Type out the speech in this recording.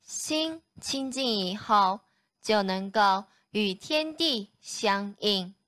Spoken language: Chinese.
心清净以后，就能够与天地相应。